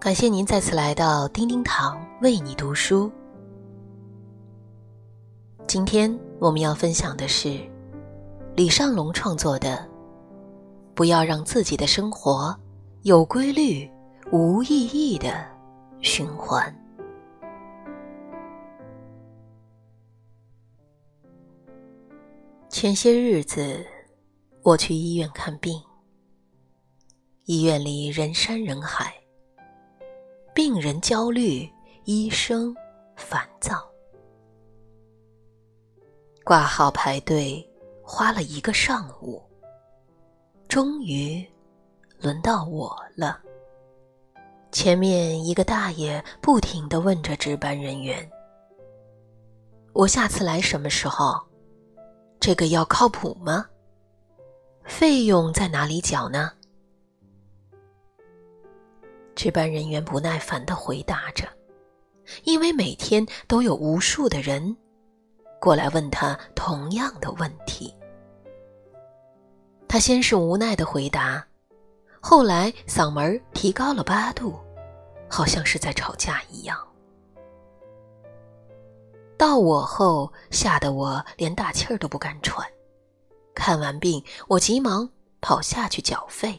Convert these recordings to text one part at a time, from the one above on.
感谢您再次来到叮叮堂为你读书。今天我们要分享的是李尚龙创作的《不要让自己的生活有规律、无意义的循环》。前些日子，我去医院看病，医院里人山人海，病人焦虑，医生烦躁。挂号排队花了1个上午，终于轮到我了。前面一个大爷不停地问着值班人员：“我下次来什么时候？这个药靠谱吗？费用在哪里缴呢？”值班人员不耐烦地回答着，因为每天都有无数的人过来问他同样的问题。他先是无奈地回答，后来嗓门提高了8度，好像是在吵架一样。到我后，吓得我连大气儿都不敢喘。看完病，我急忙跑下去缴费。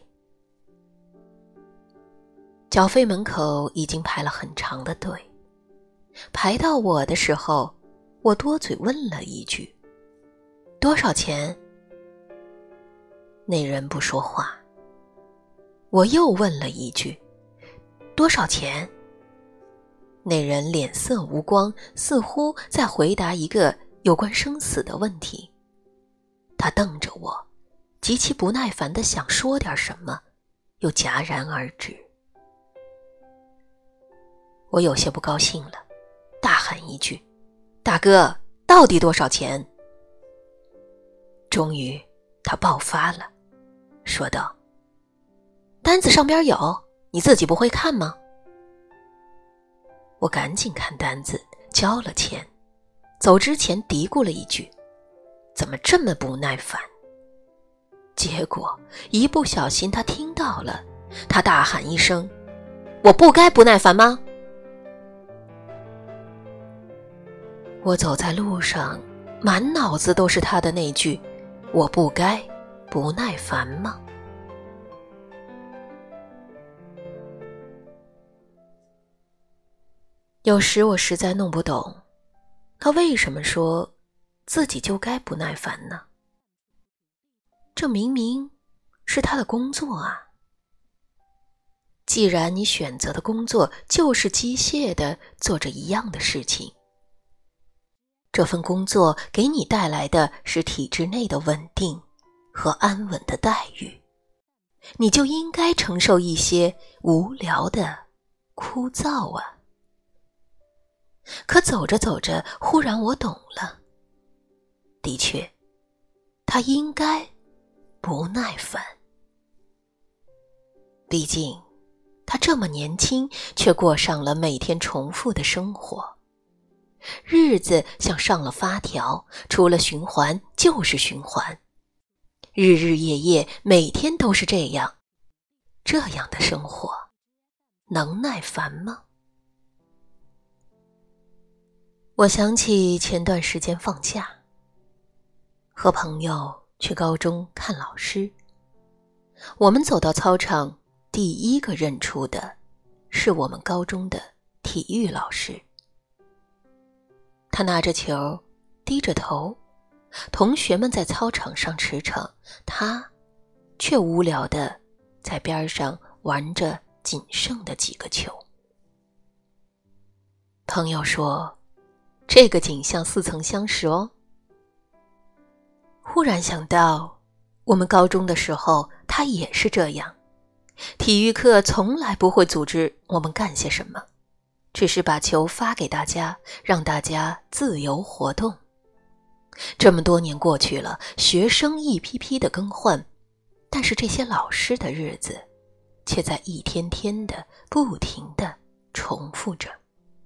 缴费门口已经排了很长的队，排到我的时候，我多嘴问了一句：“多少钱？”那人不说话。我又问了一句：“多少钱？”那人脸色无光，似乎在回答一个有关生死的问题。他瞪着我，极其不耐烦地想说点什么，又戛然而止。我有些不高兴了，大喊一句：“大哥，到底多少钱？”终于他爆发了，说道：“单子上边有，你自己不会看吗？”我赶紧看单子，交了钱，走之前嘀咕了一句：“怎么这么不耐烦？”结果一不小心他听到了，他大喊一声：“我不该不耐烦吗？”我走在路上，满脑子都是他的那句：“我不该不耐烦吗？”有时我实在弄不懂，他为什么说自己就该不耐烦呢？这明明是他的工作啊！既然你选择的工作就是机械地做着一样的事情，这份工作给你带来的是体制内的稳定和安稳的待遇，你就应该承受一些无聊的枯燥啊！可走着走着，忽然我懂了，的确，他应该不耐烦。毕竟，他这么年轻，却过上了每天重复的生活。日子像上了发条，除了循环就是循环，日日夜夜，每天都是这样。这样的生活，能耐烦吗？我想起前段时间放假，和朋友去高中看老师。我们走到操场，第一个认出的是我们高中的体育老师。他拿着球，低着头，同学们在操场上驰骋，他却无聊地在边上玩着仅剩的几个球。朋友说，这个景象似曾相识哦。忽然想到，我们高中的时候，他也是这样。体育课从来不会组织我们干些什么，只是把球发给大家，让大家自由活动。这么多年过去了，学生一批批的更换，但是这些老师的日子却在一天天的不停的重复着。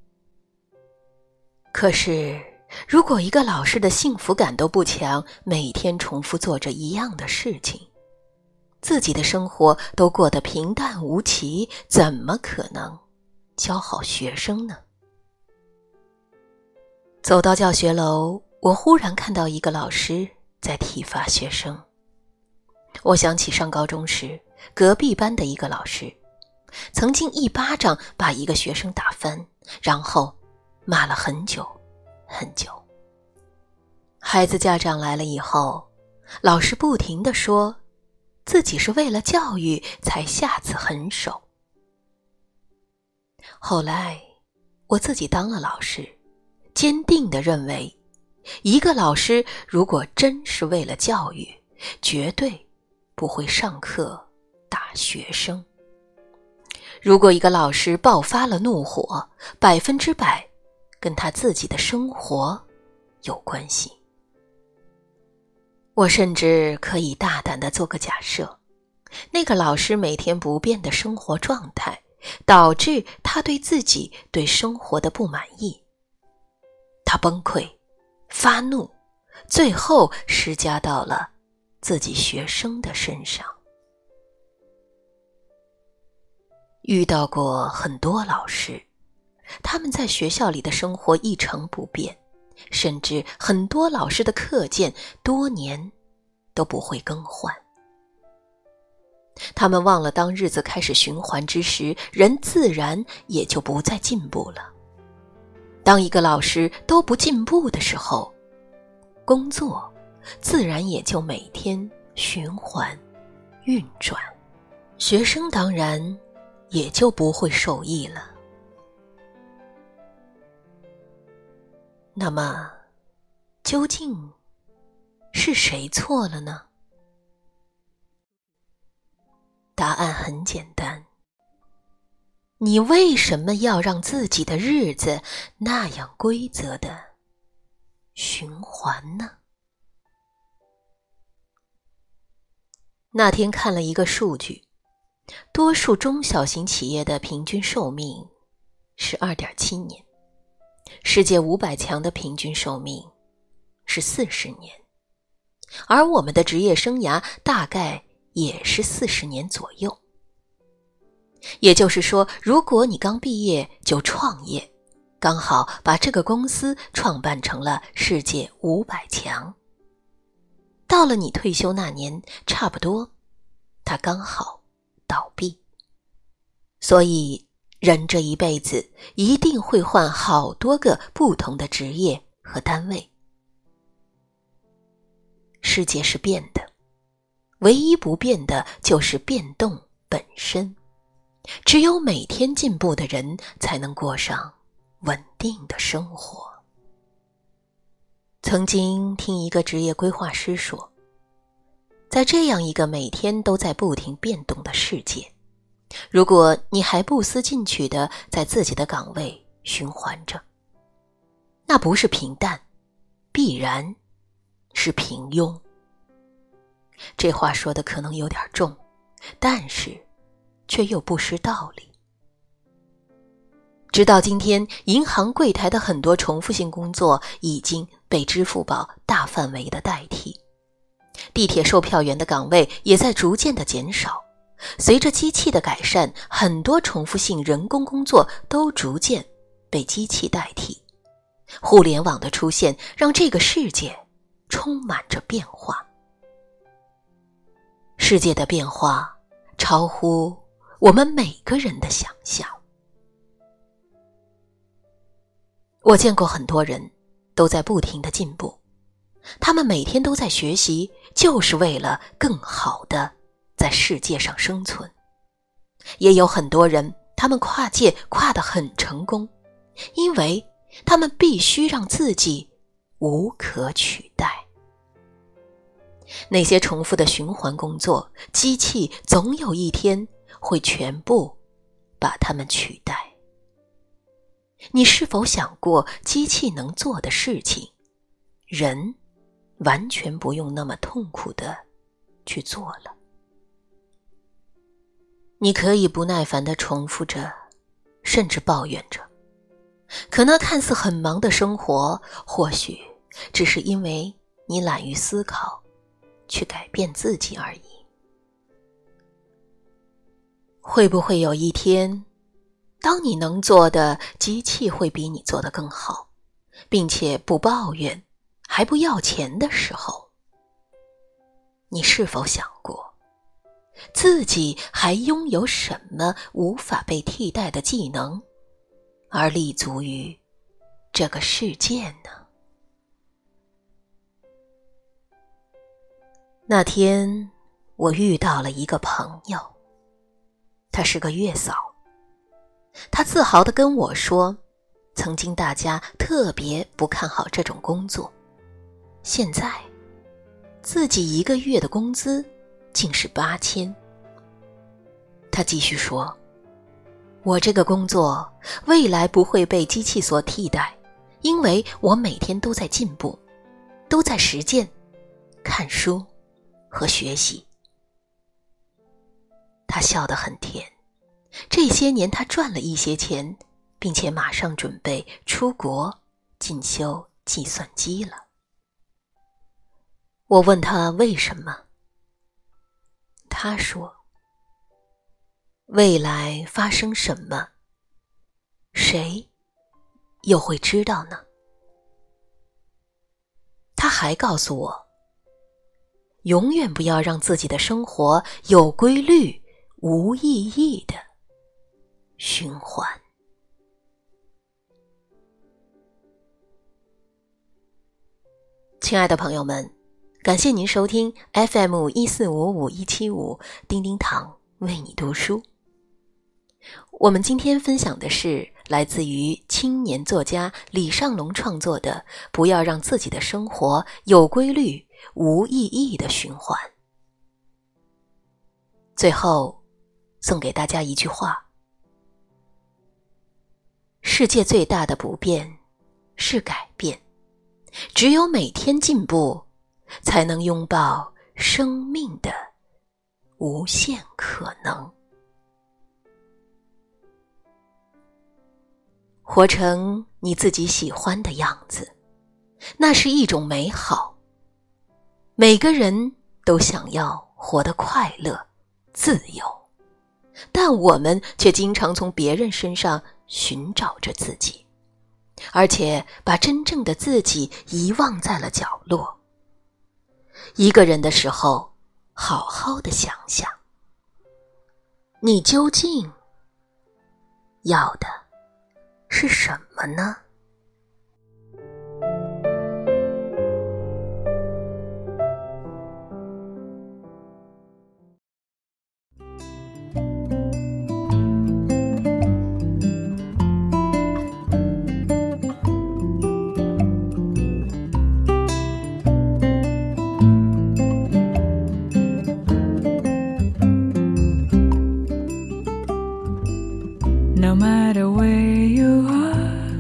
可是如果一个老师的幸福感都不强，每天重复做着一样的事情，自己的生活都过得平淡无奇，怎么可能教好学生呢？走到教学楼，我忽然看到一个老师在体罚学生。我想起上高中时，隔壁班的一个老师曾经一巴掌把一个学生打翻，然后骂了很久很久。孩子家长来了以后，老师不停地说自己是为了教育才下此狠手。后来我自己当了老师，坚定地认为，一个老师如果真是为了教育，绝对不会上课打学生。如果一个老师爆发了怒火，100%跟他自己的生活有关系。我甚至可以大胆地做个假设，那个老师每天不变的生活状态，导致他对自己对生活的不满意。他崩溃、发怒，最后施加到了自己学生的身上。遇到过很多老师，他们在学校里的生活一成不变，甚至很多老师的课件多年都不会更换。他们忘了当日子开始循环之时，人自然也就不再进步了。当一个老师都不进步的时候，工作自然也就每天循环运转，学生当然也就不会受益了。那么，究竟是谁错了呢？答案很简单，你为什么要让自己的日子那样规则的循环呢？那天看了一个数据，多数中小型企业的平均寿命是 2.7 年，世界500强的平均寿命是40年，而我们的职业生涯大概也是40年左右。也就是说，如果你刚毕业就创业，刚好把这个公司创办成了世界500强，到了你退休那年，差不多它刚好倒闭。所以人这一辈子一定会换好多个不同的职业和单位。世界是变的，唯一不变的就是变动本身。只有每天进步的人，才能过上稳定的生活。曾经听一个职业规划师说，在这样一个每天都在不停变动的世界，如果你还不思进取地在自己的岗位循环着，那不是平淡，必然是平庸。这话说的可能有点重，但是却又不失道理。直到今天，银行柜台的很多重复性工作已经被支付宝大范围的代替，地铁售票员的岗位也在逐渐的减少。随着机器的改善，很多重复性人工工作都逐渐被机器代替。互联网的出现让这个世界充满着变化。世界的变化超乎我们每个人的想象。我见过很多人都在不停地进步，他们每天都在学习，就是为了更好地在世界上生存。也有很多人，他们跨界跨得很成功，因为他们必须让自己无可取代。那些重复的循环工作，机器总有一天会全部把它们取代。你是否想过，机器能做的事情，人完全不用那么痛苦地去做了？你可以不耐烦地重复着，甚至抱怨着，可那看似很忙的生活，或许只是因为你懒于思考，去改变自己而已。会不会有一天， 当你能做的，机器会比你做得更好，并且不抱怨，还不要钱的时候，你是否想过，自己还拥有什么无法被替代的技能，而立足于这个世界呢？那天，我遇到了一个朋友，她是个月嫂。她自豪地跟我说，曾经大家特别不看好这种工作，现在自己1个月的工资竟是8000。她继续说，我这个工作未来不会被机器所替代，因为我每天都在进步，都在实践、看书和学习。他笑得很甜，这些年他赚了一些钱，并且马上准备出国进修计算机了。我问他为什么，他说，未来发生什么，谁又会知道呢？他还告诉我，永远不要让自己的生活有规律、无意义的循环。亲爱的朋友们，感谢您收听 FM1455175 叮叮堂为你读书。我们今天分享的是来自于青年作家李尚龙创作的《不要让自己的生活有规律、无意义的循环》。最后送给大家一句话：世界最大的不变是改变，只有每天进步，才能拥抱生命的无限可能。活成你自己喜欢的样子，那是一种美好。每个人都想要活得快乐、自由，但我们却经常从别人身上寻找着自己，而且把真正的自己遗忘在了角落。一个人的时候，好好的想想，你究竟要的是什么呢 ？No matter where you are,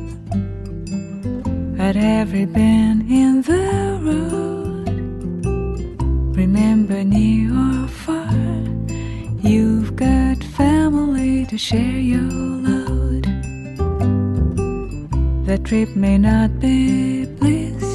at every bend in the road, remember near or far, you've got family to share your load. The trip may not be bliss,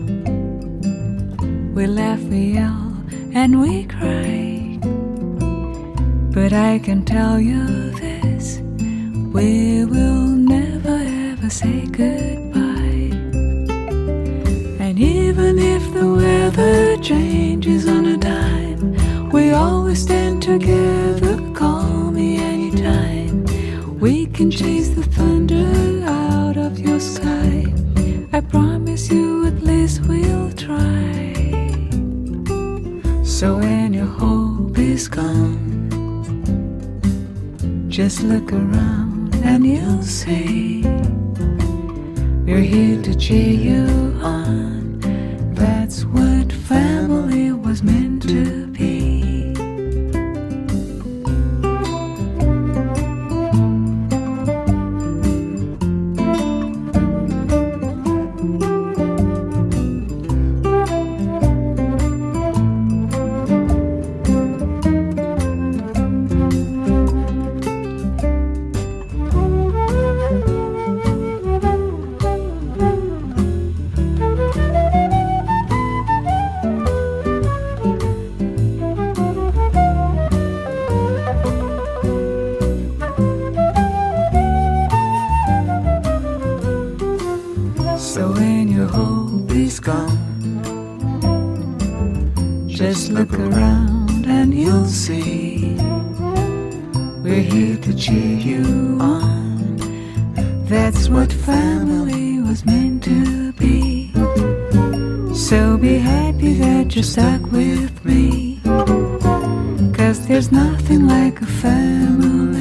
we laugh, we yell, and we cry, but I can tell you this, we will never ever say goodbye. And even if the weather changes on a dime, we always stand together, call me anytime. We can chase the thunder out of your sky, I promise you at least we'll try. So when your hope is gone, just look around and you'll see we're here to cheer you on. That's what family was meant to be. Just look around and you'll see we're here to cheer you on. That's what family was meant to be. So be happy that you're stuck with me, 'cause there's nothing like a family.